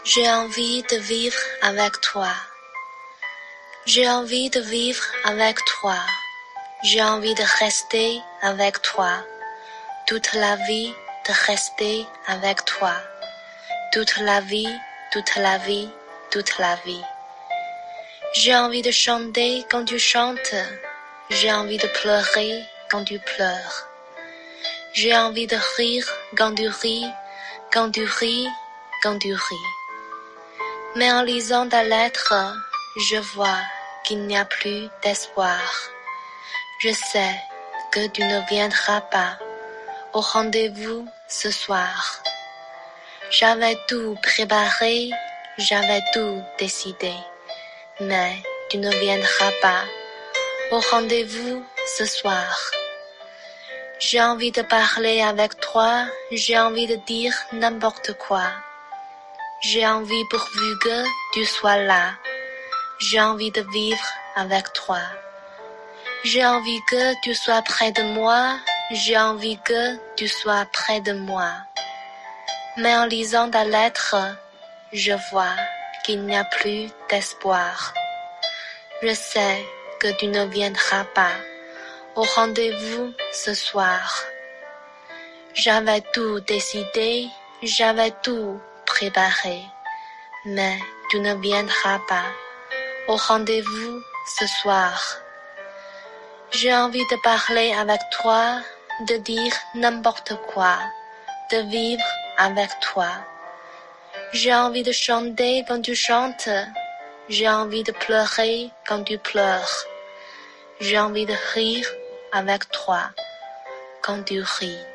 J'ai envie de vivre avec toi. J'ai envie de vivre avec toi. J'ai envie de rester avec toi. Toute la vie, de rester avec toi. Toute la vie, toute la vie, toute la vie. J'ai envie de chanter quand tu chantes. J'ai envie de pleurer quand tu pleures. J'ai envie de rire quand tu ris, quand tu ris, quand tu ris. Mais en lisant ta lettre, je vois qu'il n'y a plus d'espoir. Je sais que tu ne viendras pas au rendez-vous ce soir. J'avais tout préparé, j'avais tout décidé, mais tu ne viendras pas au rendez-vous ce soir. J'ai envie de parler avec toi, j'ai envie de dire n'importe quoi. J'ai envie pourvu que tu sois là. J'ai envie de vivre avec toi. J'ai envie que tu sois près de moi. J'ai envie que tu sois près de moi. Mais en lisant ta lettre, je vois qu'il n'y a plus d'espoir. Je sais que tu ne viendras pas au rendez-vous ce soir. J'avais tout décidé, j'avais tout préparé, mais tu ne viendras pas au rendez-vous ce soir. J'ai envie de parler avec toi, de dire n'importe quoi, de vivre avec toi. J'ai envie de chanter quand tu chantes, j'ai envie de pleurer quand tu pleures. J'ai envie de rire avec toi quand tu ris.